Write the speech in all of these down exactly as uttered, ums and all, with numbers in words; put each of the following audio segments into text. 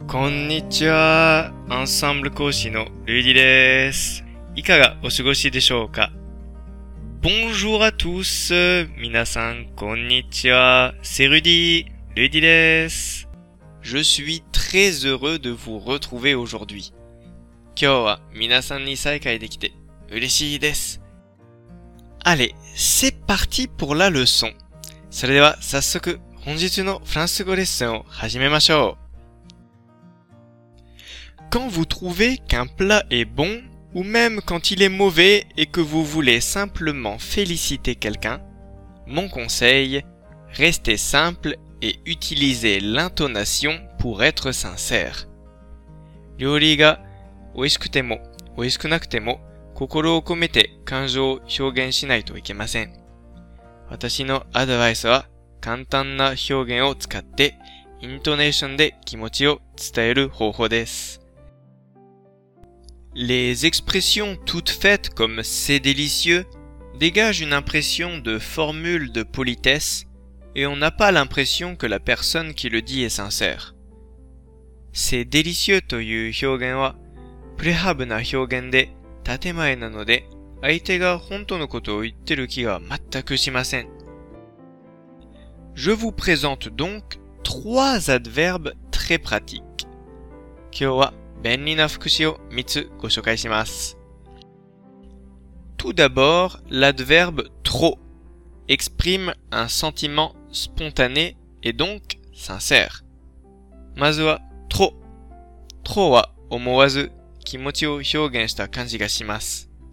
こんにちは。アンサンブル講師のルイディです。いかがお過ごしでしょうか？ Bonjour à tous. 皆さん、こんにちは。C'est Rudy. ルイディです。Je suis très heureux de vous retrouver aujourd'hui. 今日は皆さんに再会できて嬉しいです。Allez, c'est parti pour la leçon. それでは早速本日のフランス語レッスンを始めましょう。Quand vous trouvez qu'un plat est bon, ou même quand il est mauvais et que vous voulez simplement féliciter quelqu'un, mon conseil, restez simple et utilisez l'intonation pour être sincère. 料理が美味しくても美味しくなくても心を込めて感情を表現しないといけません。私のアドバイスは簡単な表現を使ってイントネーションで気持ちを伝える方法です。Les expressions toutes faites comme c'est délicieux dégagent une impression de formule de politesse et on n'a pas l'impression que la personne qui le dit est sincère. C'est délicieux という表現はプレハブな表現で建前なので相手が本当のことを言ってる気が全くしません。Je vous présente donc trois adverbes très pratiques. 今日は便利な副詞をみっつご紹介します。Tout d'abord, l'adverbe trop exprime un sentiment spontané et donc sincère. まずは trop。trop は思わず気持ちを表現した感じがします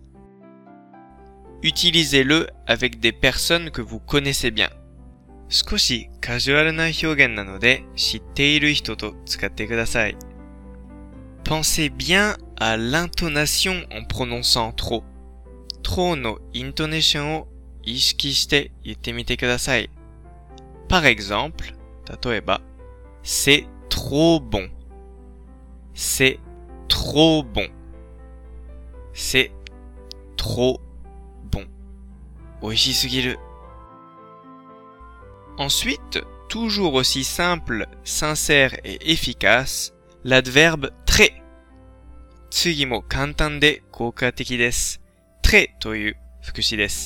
。Utilisez-le avec des personnes que vous connaissez bien. 少しカジュアルな表現なので知っている人と使ってください。Pensez bien à l'intonation en prononçant trop. trop のイントネーションを意識して言ってみてください。Par exemple, 例えば、c'est trop bon. C'est trop bon. C'est trop bon. 美味しすぎる。Ensuite, toujours aussi simple, sincère et efficace, l'adverbe très. 次も簡単で効果的です。très という副詞です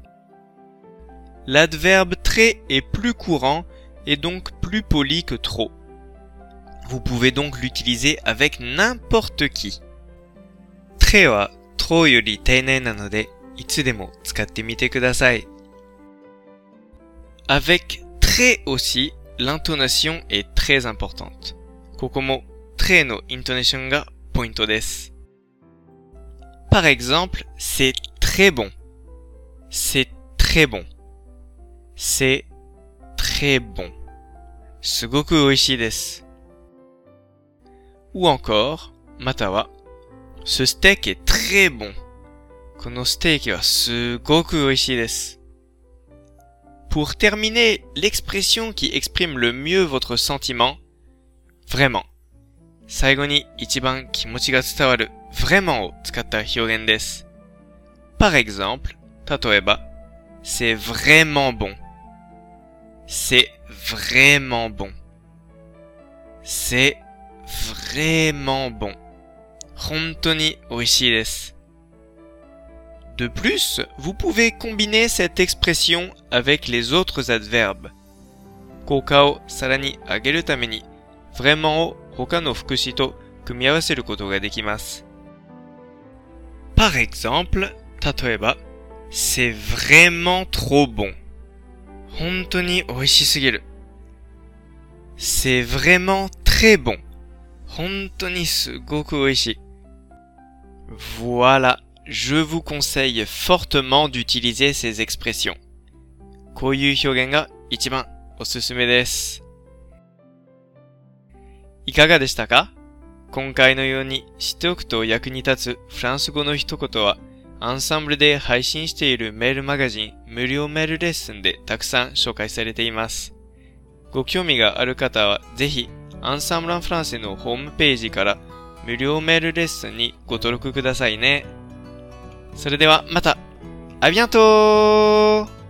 。L'adverbe très est plus courant et donc plus poli que trop. Vous pouvez donc l'utiliser avec n'importe qui. très は trop より丁寧なので、いつでも使ってみてください。Avec très aussi, l'intonation est très importante. ここもtrès のイントネーションがポイントです。Par exemple, c'est très bon. C'est très bon. C'est très bon. すごく美味しいです。Ou encore, または、ce steak est très bon. このステーキはすごく美味しいです。Pour terminer, l'expression qui exprime le mieux votre sentiment, vraiment. 最後に一番気持ちが伝わる vraiment を使った表現です。Par exemple, 例えば、c'est vraiment bon. C'est vraiment bon. C'est vraiment bon. 本当に美味しいです。De plus, vous pouvez combiner cette expression avec les autres adverbes. 効果をさらに上げるために、vraiment を他の副詞と組み合わせることができます。Par exemple, 例えば、c'est vraiment trop bon. 本当に美味しすぎる。C'est vraiment très bon. 本当にすごく美味しい。Voilà, je vous conseille fortement d'utiliser ces expressions. こういう表現が一番おすすめです。いかがでしたか？今回のように知っておくと役に立つフランス語の一言はアンサンブルで配信しているメールマガジン無料メールレッスンでたくさん紹介されています。ご興味がある方はぜひアンサンブルンフランセのホームページから無料メールレッスンにご登録くださいね。それではまた。À bientôt!